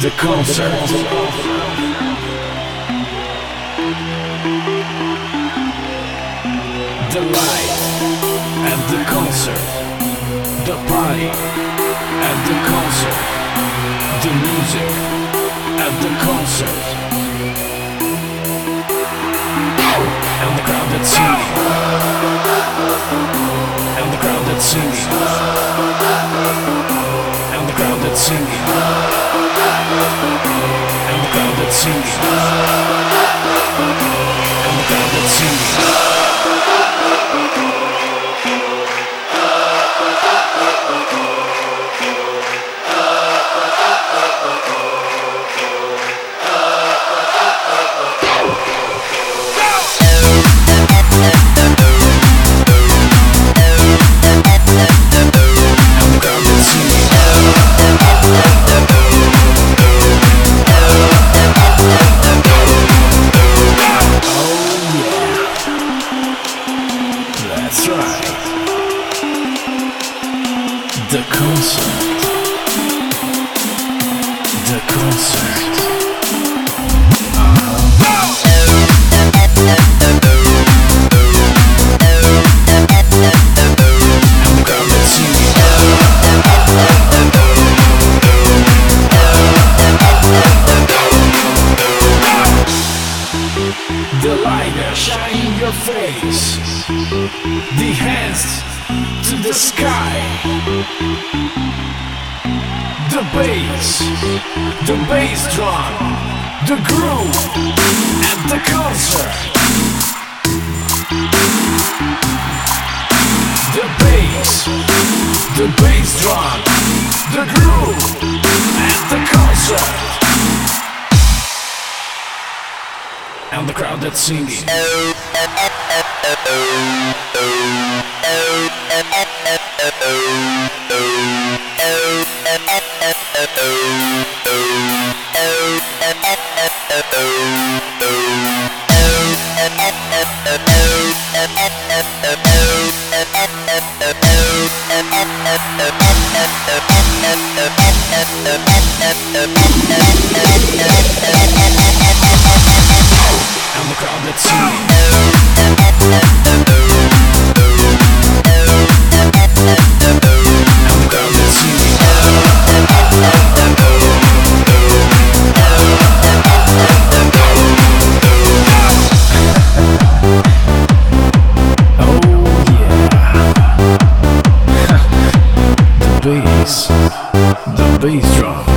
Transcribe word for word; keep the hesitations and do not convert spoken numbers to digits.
The concert. The light at the concert. The party at the concert. The music at the concert. And the crowd that's singing. And the crowd that's singing. And the crowd that's singing. And the crowd that's singing. And the crowd that's singing. That's right. The concert. The concert. The light shine in your face. The hands to the sky. The bass, the bass drum, the groove at the concert. The bass, the bass drum, the groove at the concert. And the crowd that's singing. And the crowd that's singing. And the crowd that's singing. Oh yeah. The bass, the bass drum.